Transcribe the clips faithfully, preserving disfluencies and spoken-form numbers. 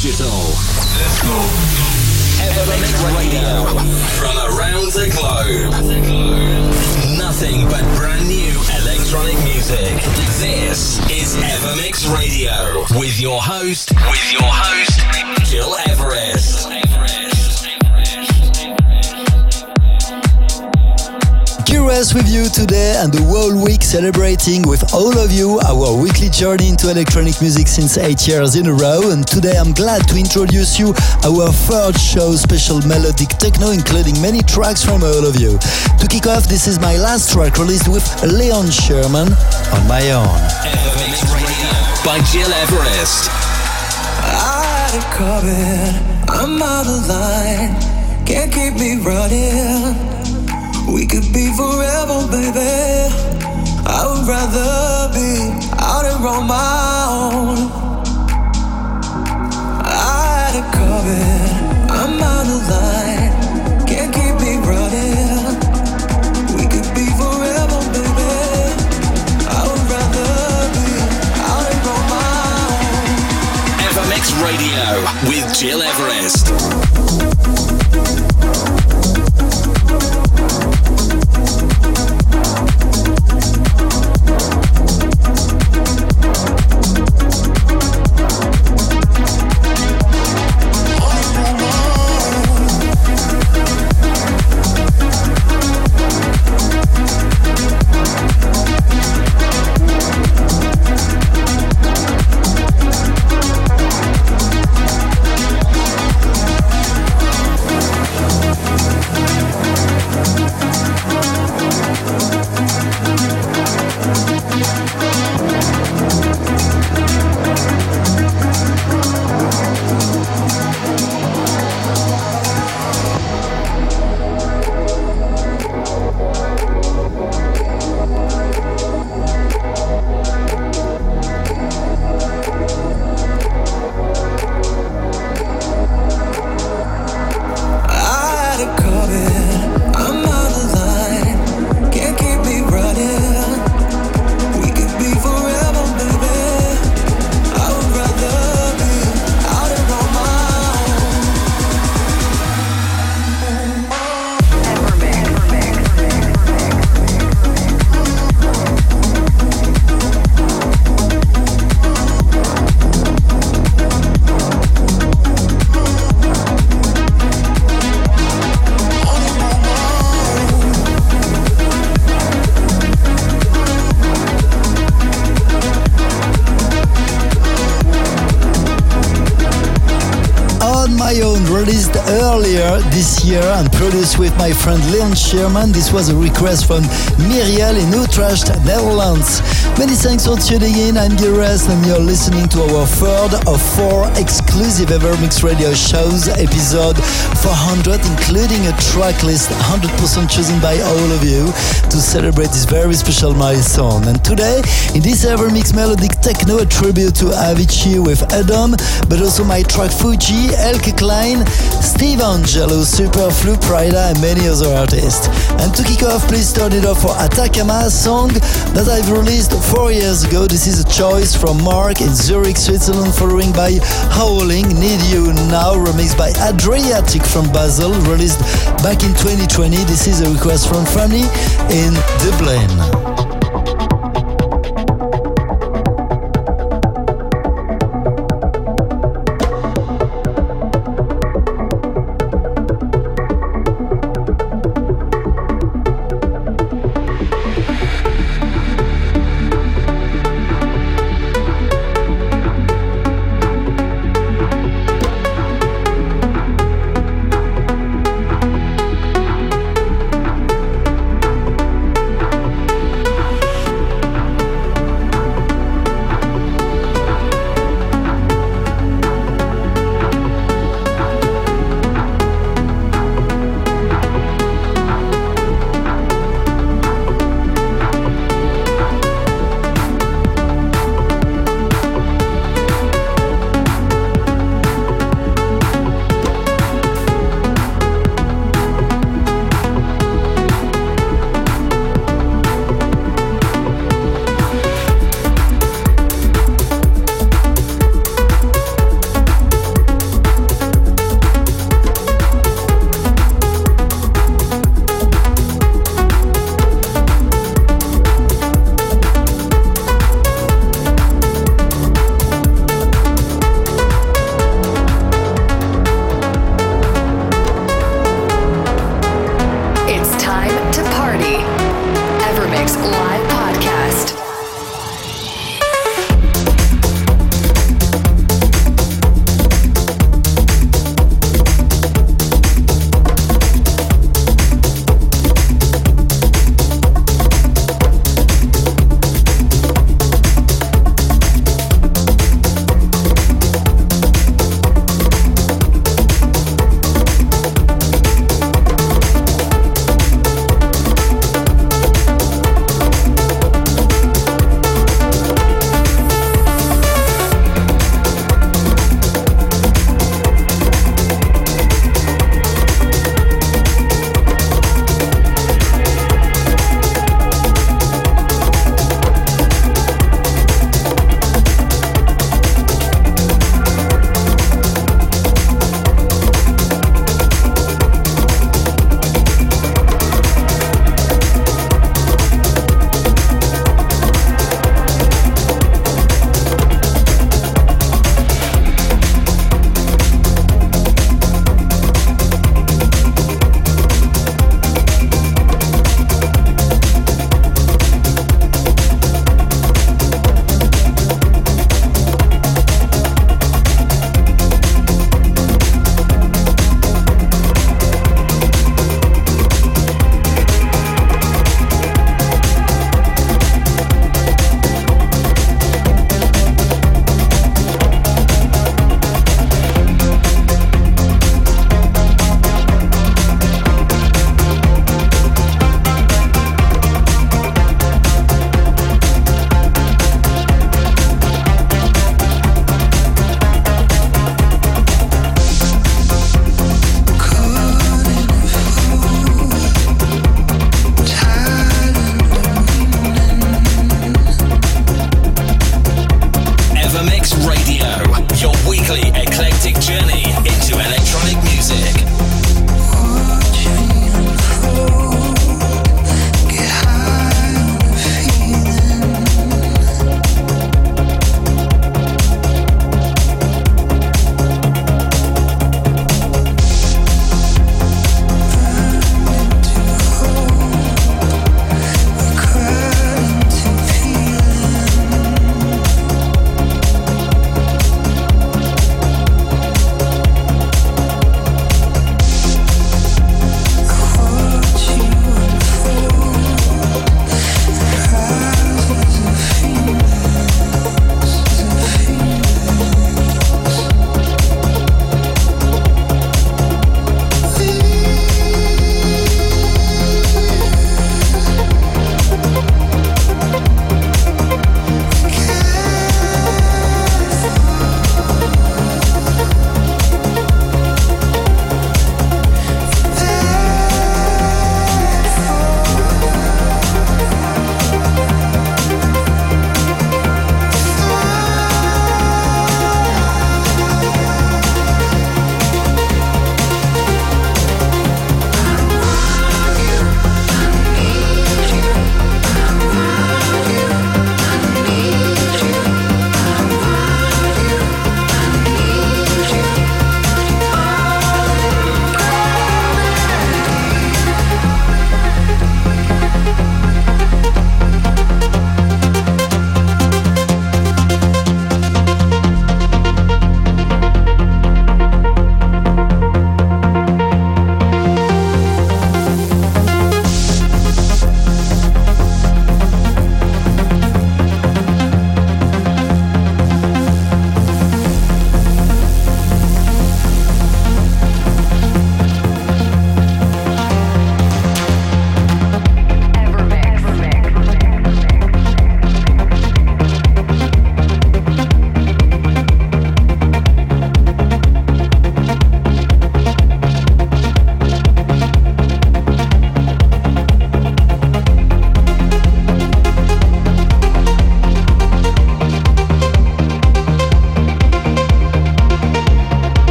digital. Let's go. Evermix Radio. From around the globe. Nothing but brand new electronic music. This is Evermix Radio. With your host, with your host, Gil Everest. Curious with you today and the whole week celebrating with all of you our weekly journey into electronic music since eight years in a row. And today I'm glad to introduce you our third show, special melodic techno, including many tracks from all of you. To kick off, this is my last track released with Leon Sherman, On My Own. Evermix Radio by Gil Everest. I had it covered, I'm out of line, can't keep me running. We could be forever, baby. I would rather be out here on my own. I had it covered, I'm out of line, can't keep me running. We could be forever, baby. I would rather be out here on my own. Evermix Radio with Gil Everest. Released earlier this year and produced with my friend Leon Sherman. This was a request from Miriel in Utrecht, Netherlands. Many thanks for tuning in. I'm Gil Everest and you're listening to our third of four exclusive Evermix Radio shows, episode four hundred, including a track list one hundred percent chosen by all of you to celebrate this very special milestone. And today, in this Evermix Melodic Techno, a tribute to Avicii with Adam, but also my track Fuji, Elke Klein, Steve Angelo, Superflu, Prida, and many other artists. And to kick off, please turn it off for Atacama, a song that I've released four years ago. This is a choice from Mark in Zurich, Switzerland, following by Howling, Need You Now, remixed by Adriatic from Basel, released back in twenty twenty. This is a request from Fanny in Dublin.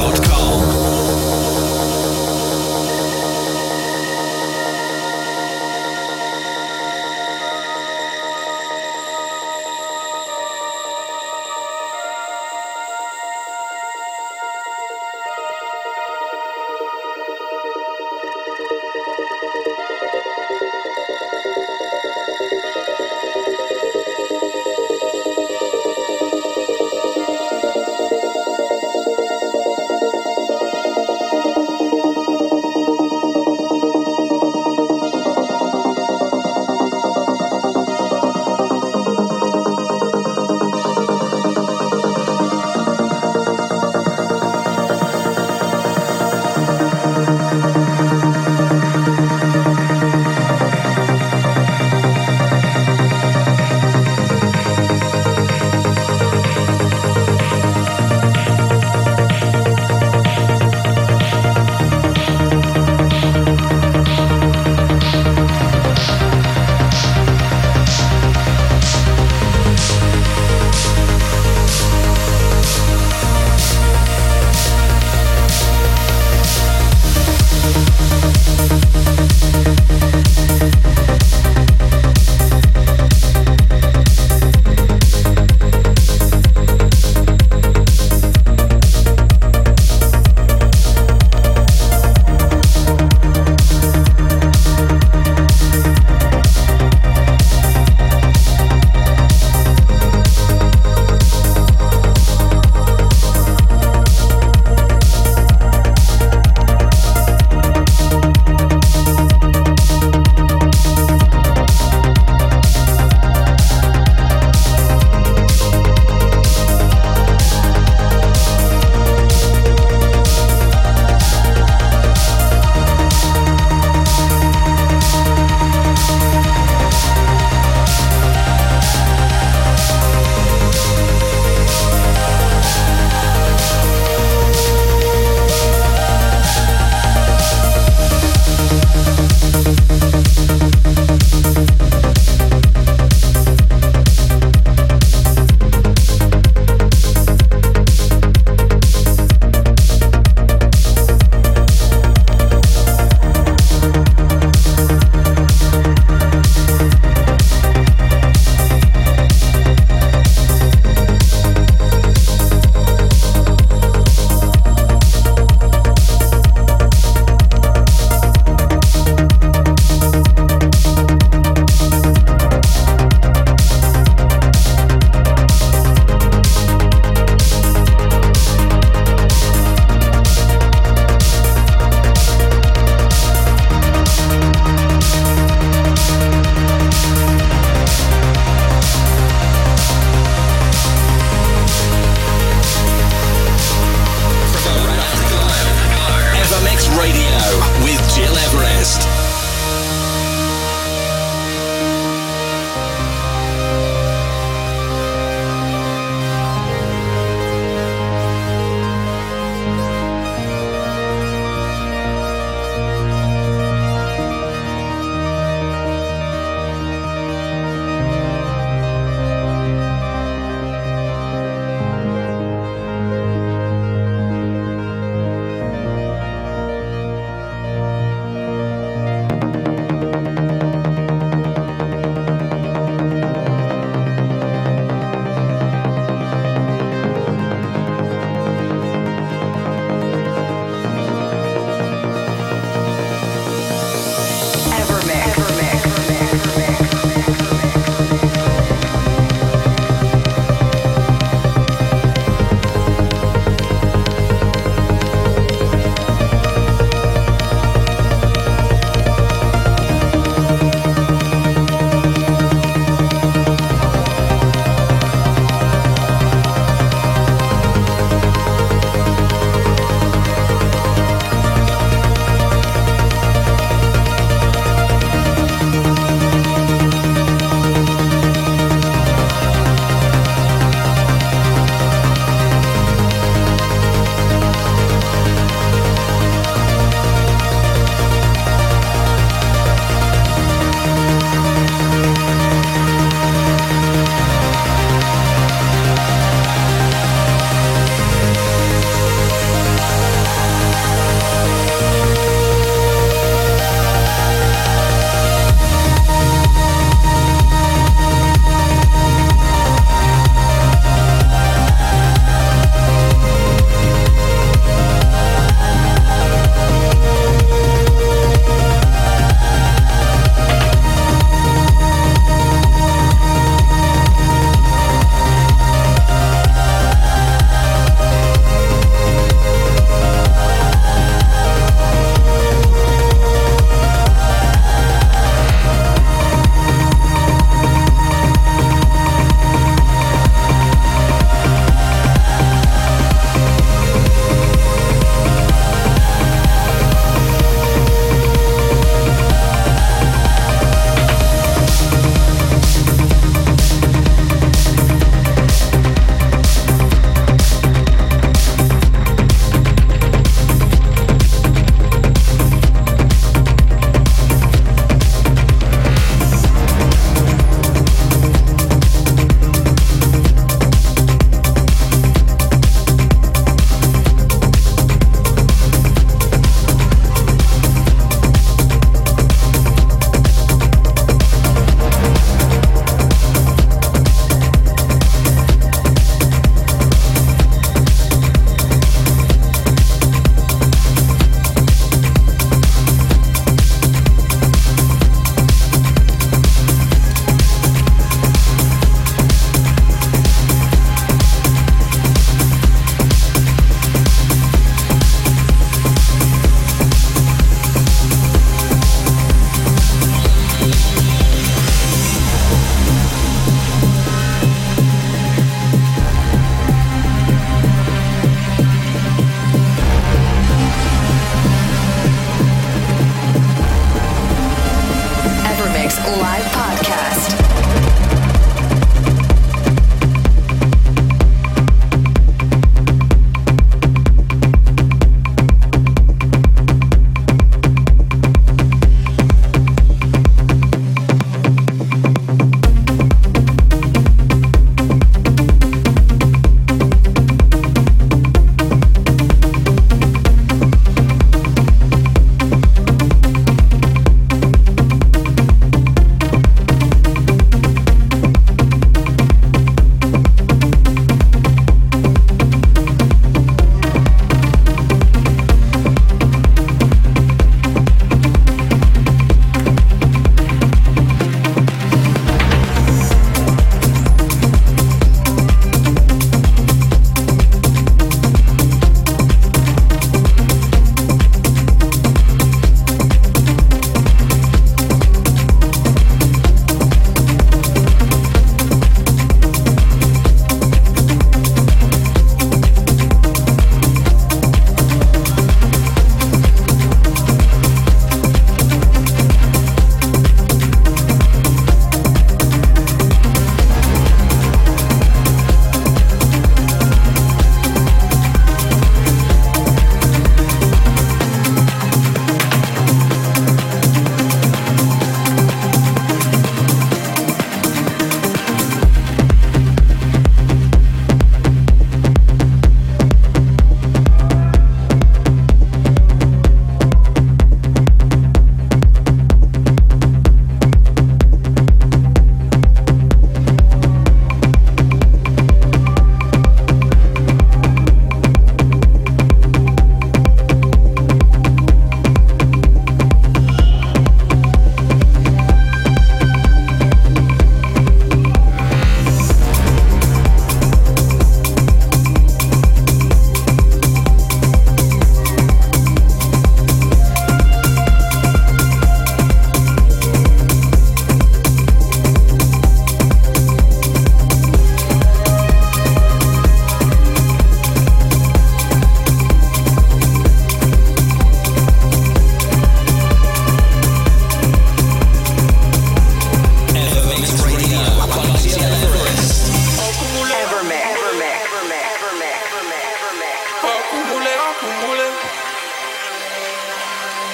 dot com.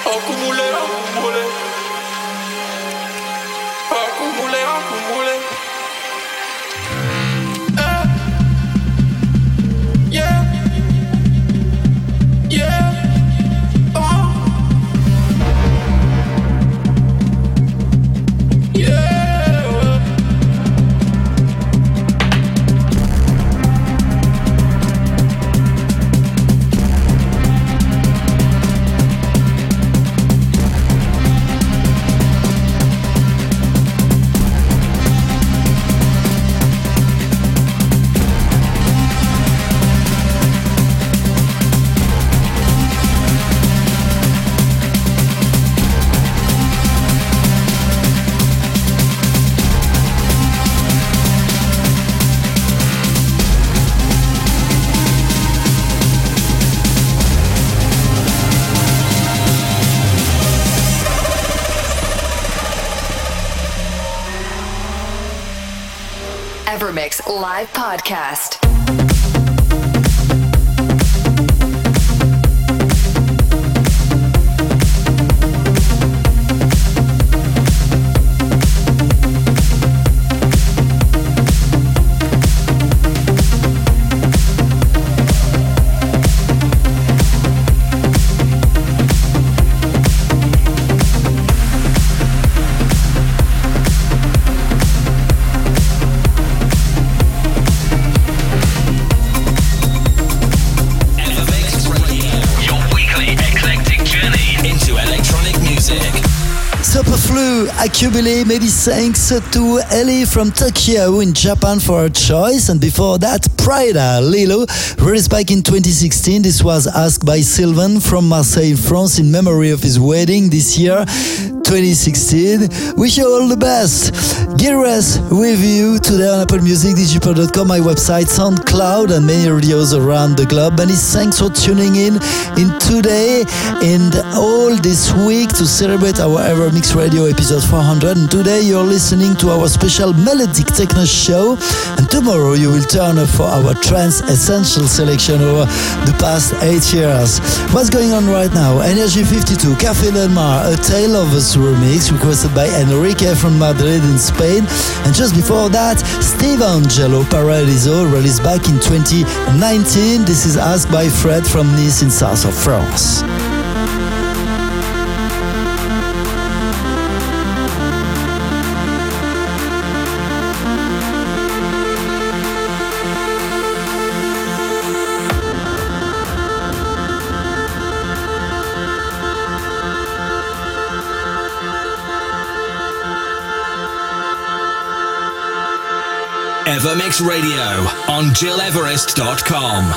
accumulé, accumulé. Accumulé, accumulé. Eh. Yeah. Yeah. Oh. Yeah. Evermix Live Podcast. Acubile, many thanks to Ellie from Tokyo in Japan for her choice. And before that, Prida, Lilo, released back in twenty sixteen. This was asked by Sylvain from Marseille, France, in memory of his wedding this year, twenty sixteen. Wish you all the best. Geras with you today on Apple Music, digipod dot com, my website, SoundCloud, and many radios around the globe. Many thanks for tuning in in today and all this week to celebrate our Evermix Radio episode four hundred. And today you're listening to our special melodic techno show. And tomorrow you will turn up for our trance essential selection over the past eight years. What's going on right now? Energy fifty-two, Café Del Mar, A Tale of Us remix requested by Enrique from Madrid in Spain. And just before that, Steve Angelo, Paradiso, released back in twenty nineteen. This is asked by Fred from Nice in south of France. Evermix Radio on Gil Everest dot com.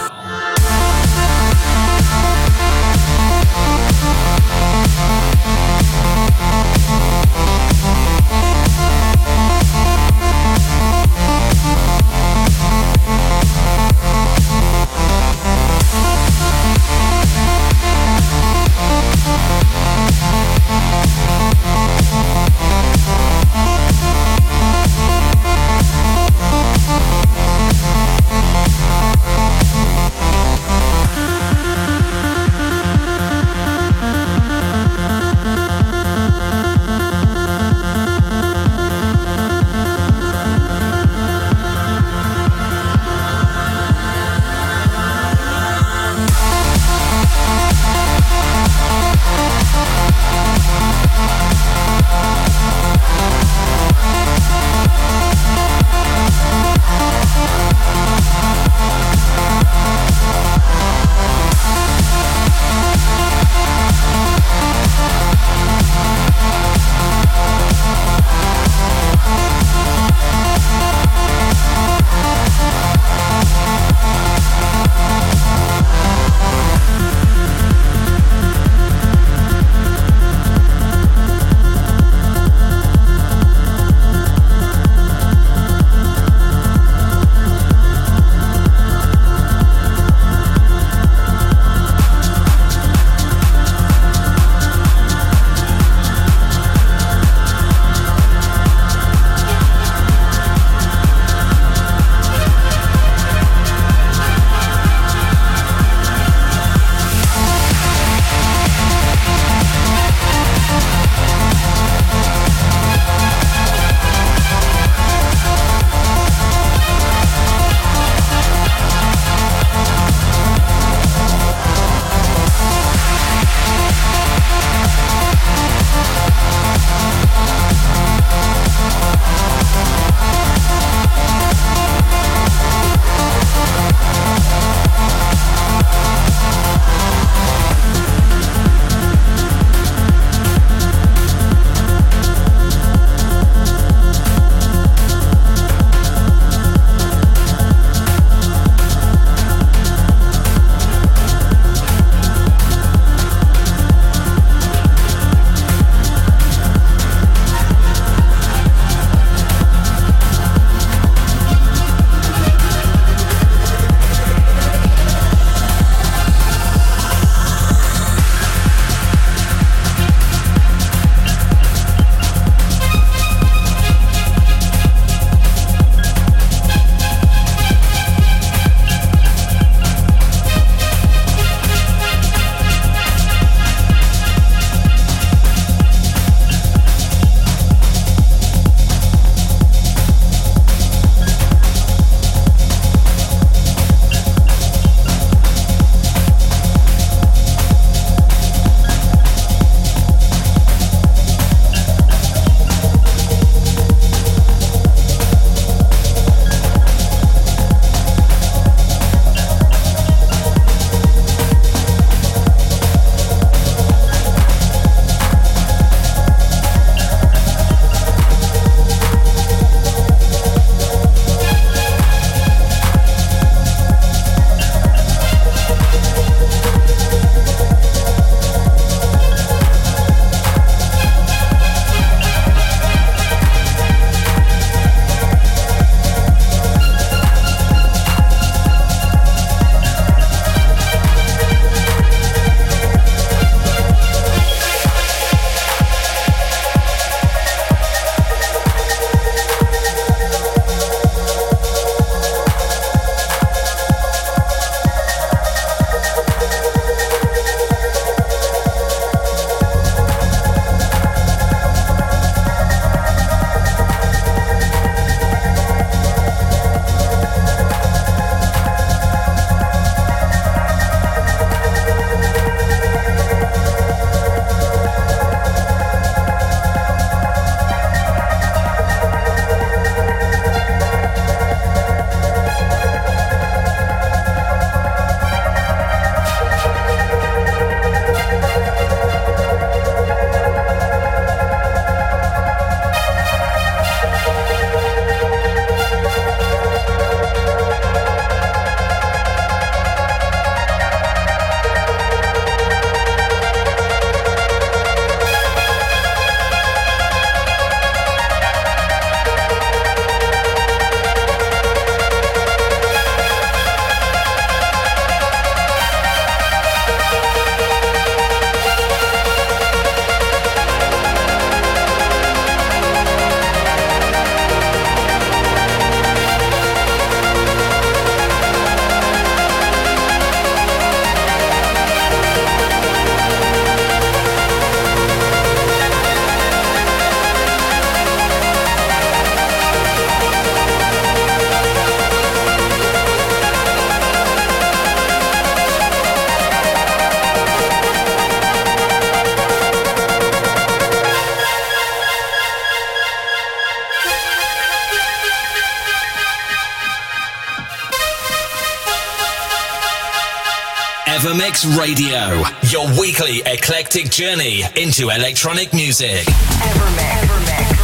Evermix Radio, your weekly eclectic journey into electronic music. Evermix. Evermix.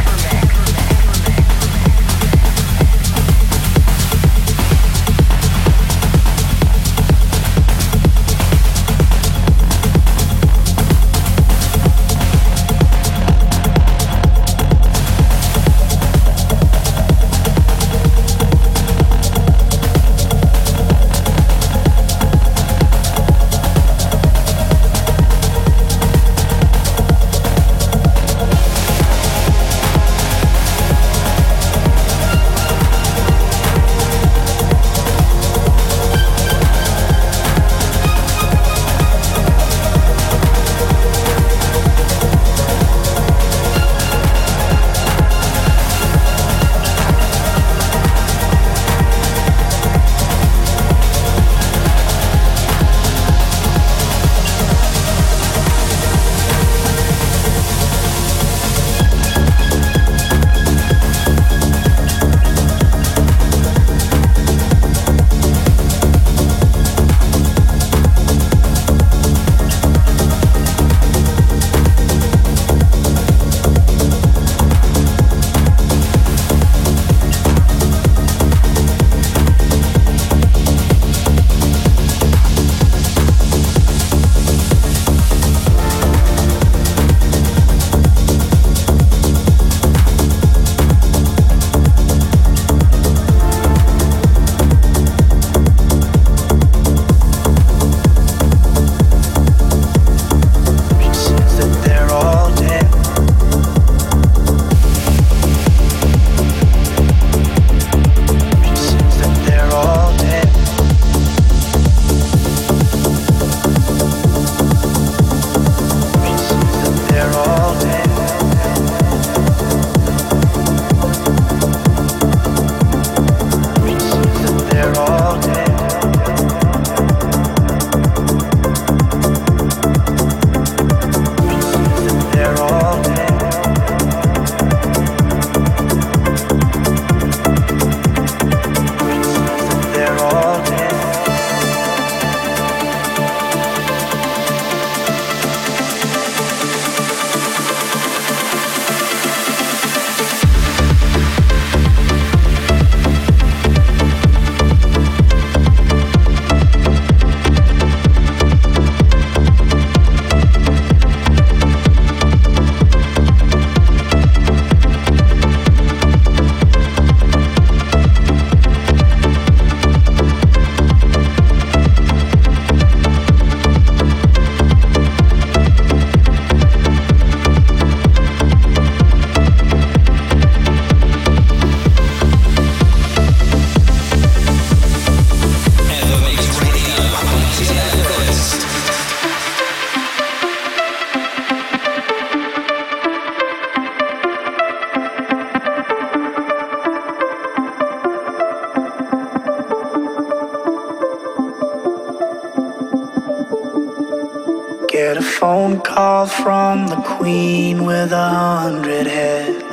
Get a phone call from the queen with a hundred heads.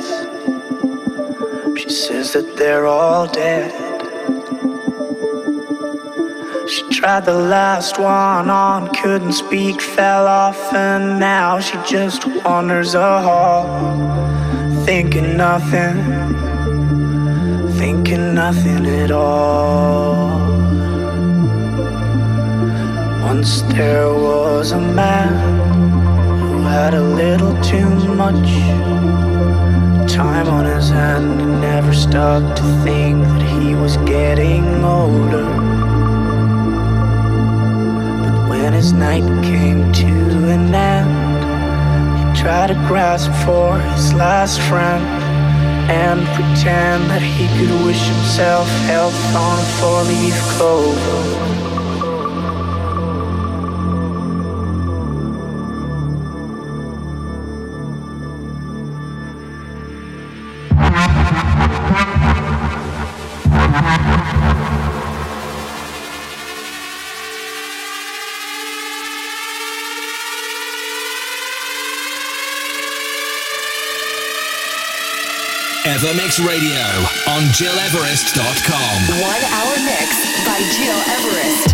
She says that they're all dead. She tried the last one on, couldn't speak, fell off, and now she just wanders a hall, thinking nothing, thinking nothing at all. Once there was a man who had a little too much time on his hand and never stopped to think that he was getting older. But when his night came to an end, he tried to grasp for his last friend and pretend that he could wish himself health on a four-leaf clover. Evermix Radio on Gil Everest dot com. One hour mix by Gil Everest.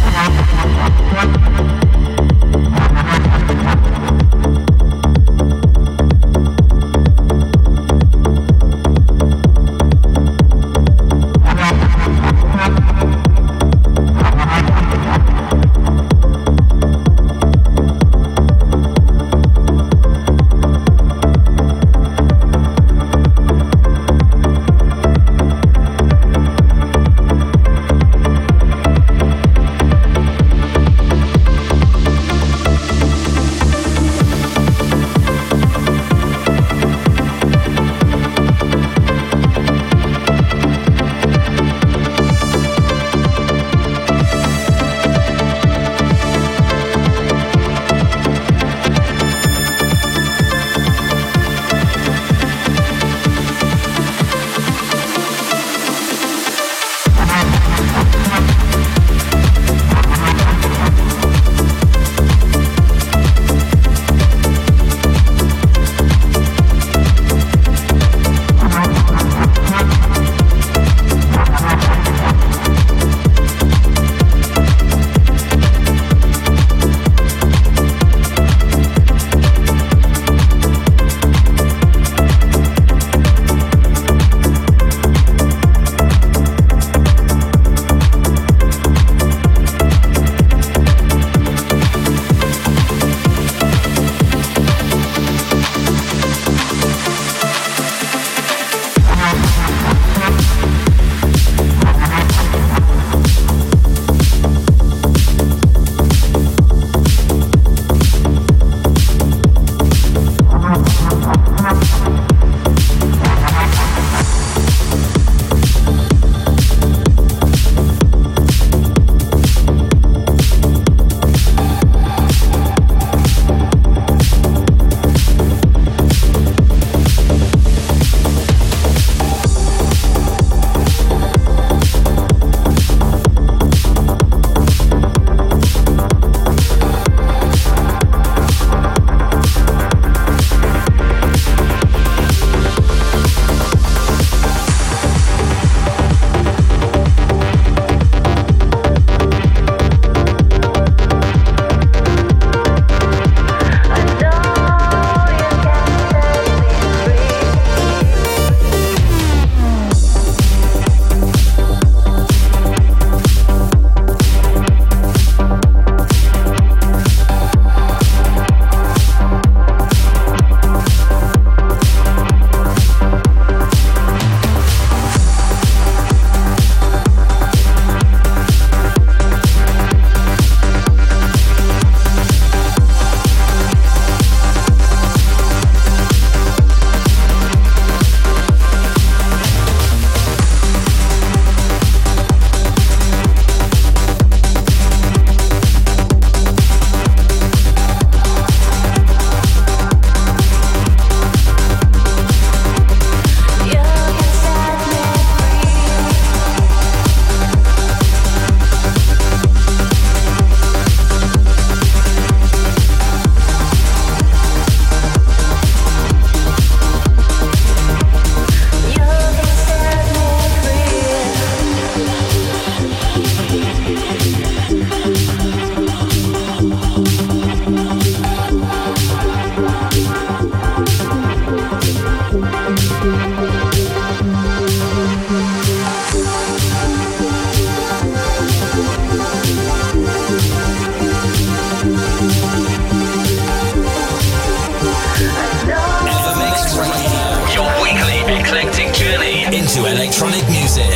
into electronic music.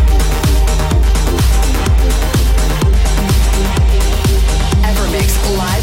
Evermix Live.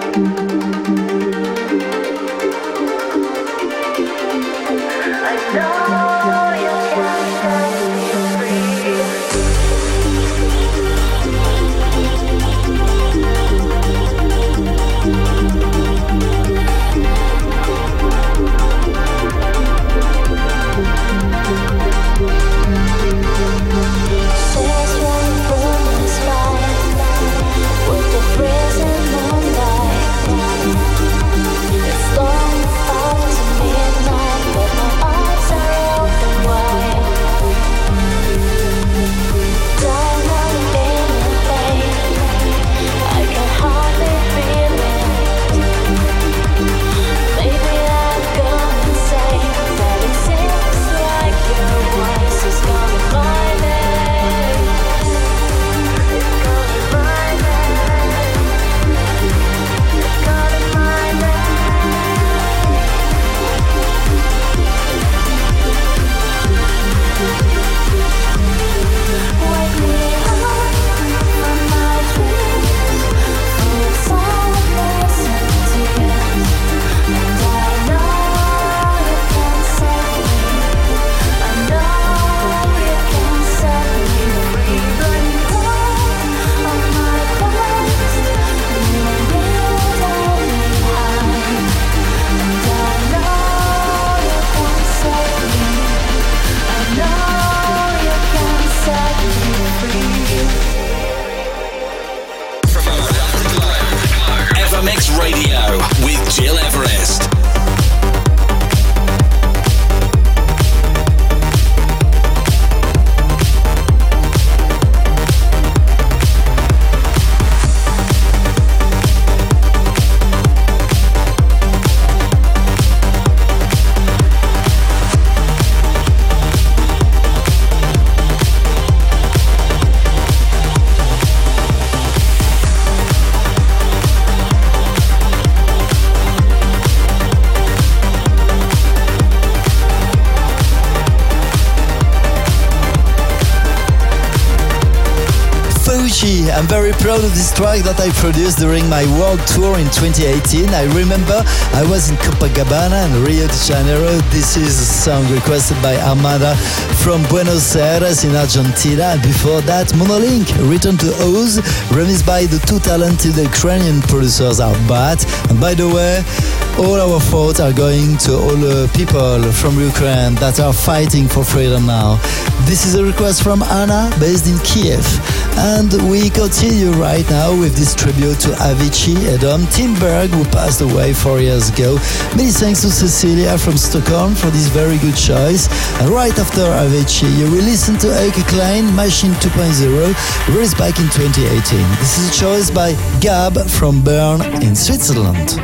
I'm very proud of this track that I produced during my world tour in twenty eighteen. I remember I was in Copacabana and Rio de Janeiro. This is a song requested by Armada from Buenos Aires in Argentina. And before that, Monolink, Return to Oz, remixed by the two talented Ukrainian producers Arbat. And by the way, all our thoughts are going to all the people from Ukraine that are fighting for freedom now. This is a request from Anna, based in Kiev. And we continue right now with this tribute to Avicii, Adam Timberg, who passed away four years ago. Many thanks to Cecilia from Stockholm for this very good choice. And right after Avicii, you will listen to Elke Klein, Machine two point oh, released back in twenty eighteen. This is a choice by Gab from Bern in Switzerland.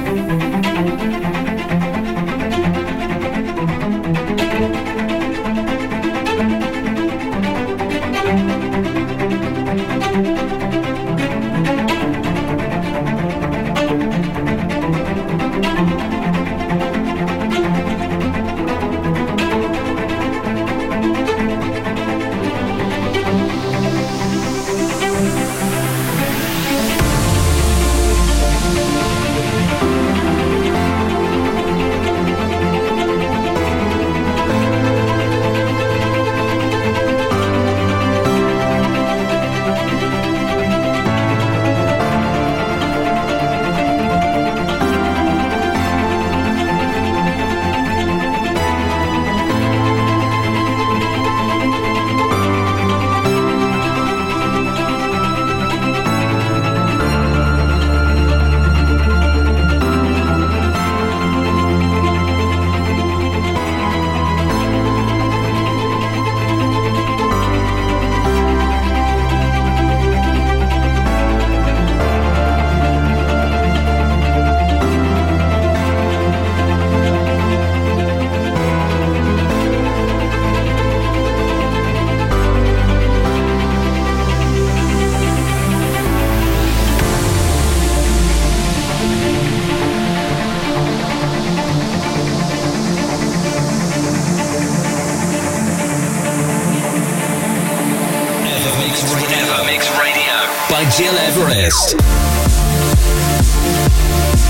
Gil Everest.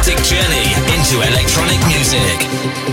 cinematic journey into electronic music.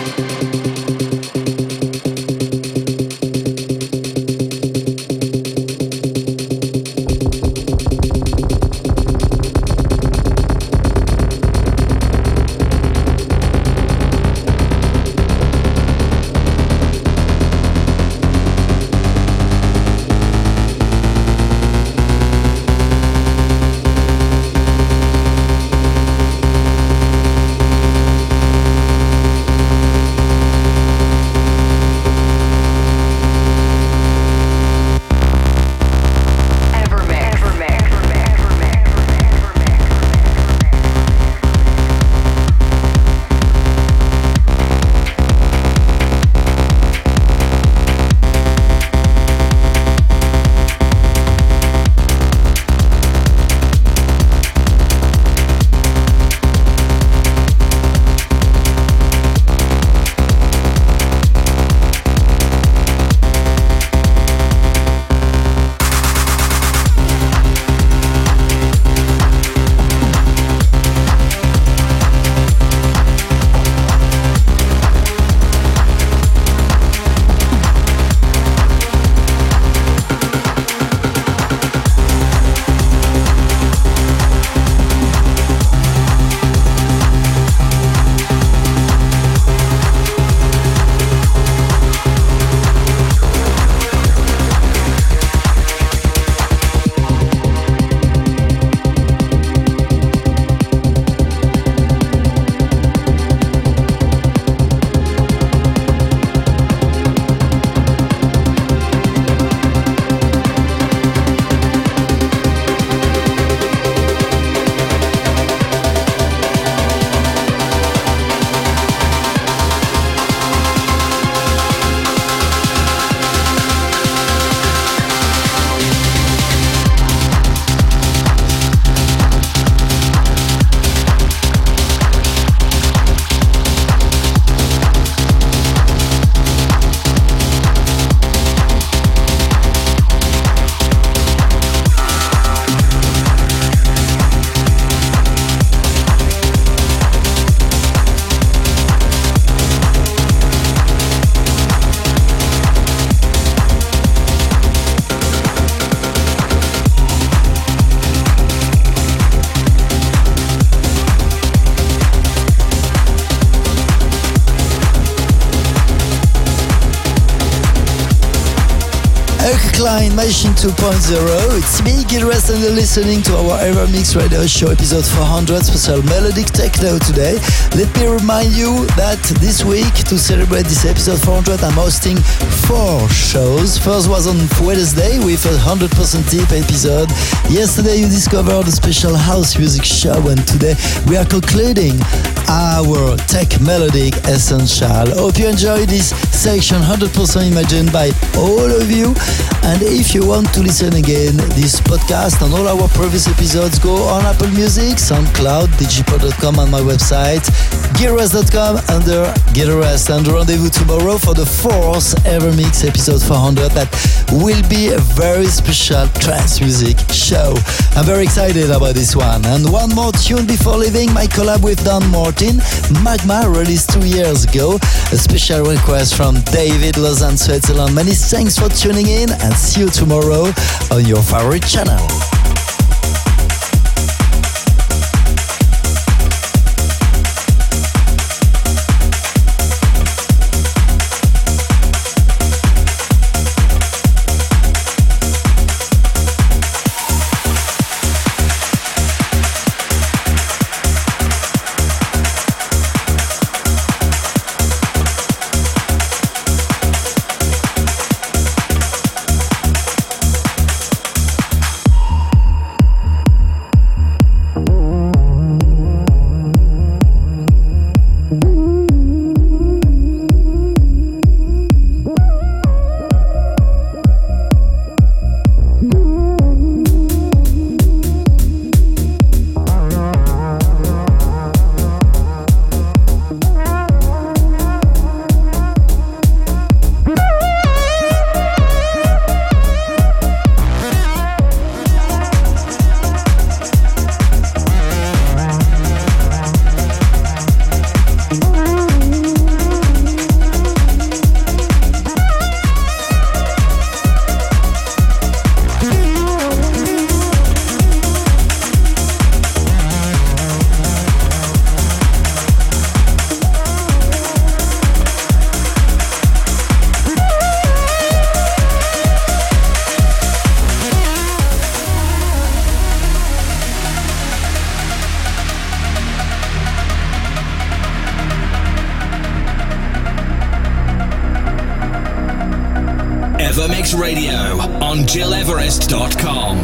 Klein, Machine two point oh. It's me, Gil Everest, and you're listening to our Evermix Radio Show episode four hundred, special melodic techno today. Let me remind you that this week, to celebrate this episode four hundred, I'm hosting four shows. First was on Wednesday with a one hundred percent tip episode. Yesterday you discovered a special house music show, and today we are concluding our tech melodic essential. Hope you enjoyed this section, one hundred percent imagined by all of you. And if you want to listen again this podcast and all our previous episodes, go on Apple Music, SoundCloud, digipod dot com, and my website, gil everest dot com under Gil Everest. And rendezvous tomorrow for the fourth Evermix episode four hundred. That will be a very special trance music show. I'm very excited about this one. And one more tune before leaving, my collab with Don Martin, Magma, released two years ago. A special request from David, Lausanne, Switzerland. Many thanks for tuning in, and see you tomorrow on your favorite channel. Evermix Radio on Gil Everest dot com.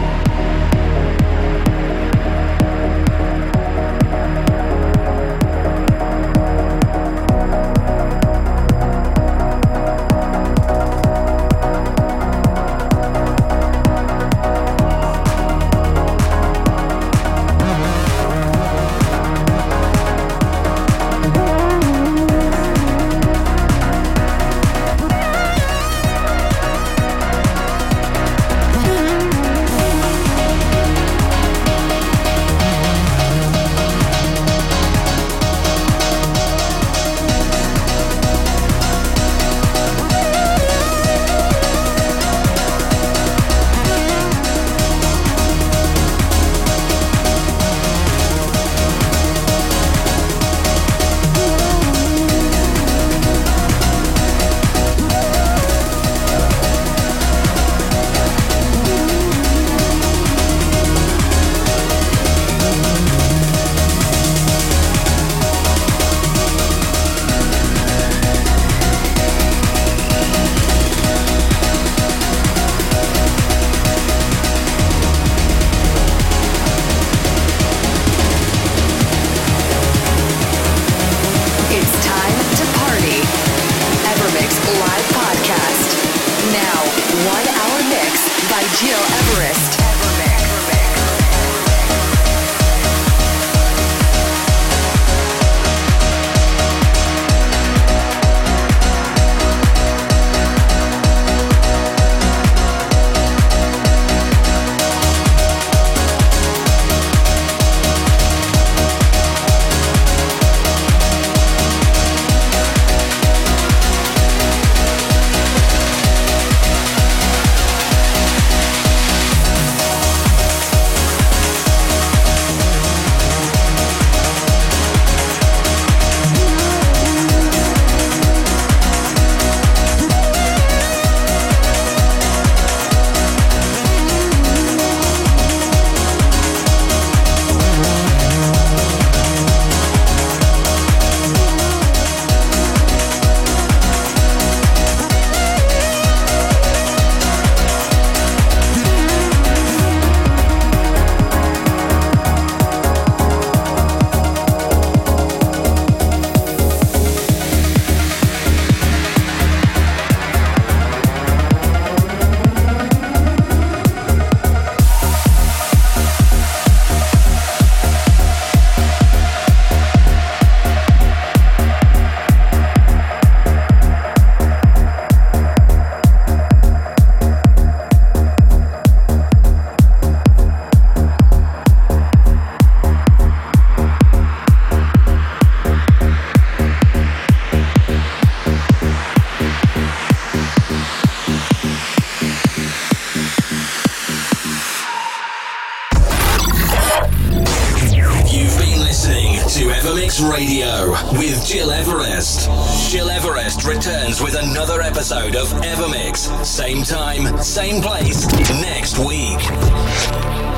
Radio with Gil Everest. Gil Everest returns with another episode of Evermix. Same time, same place, next week.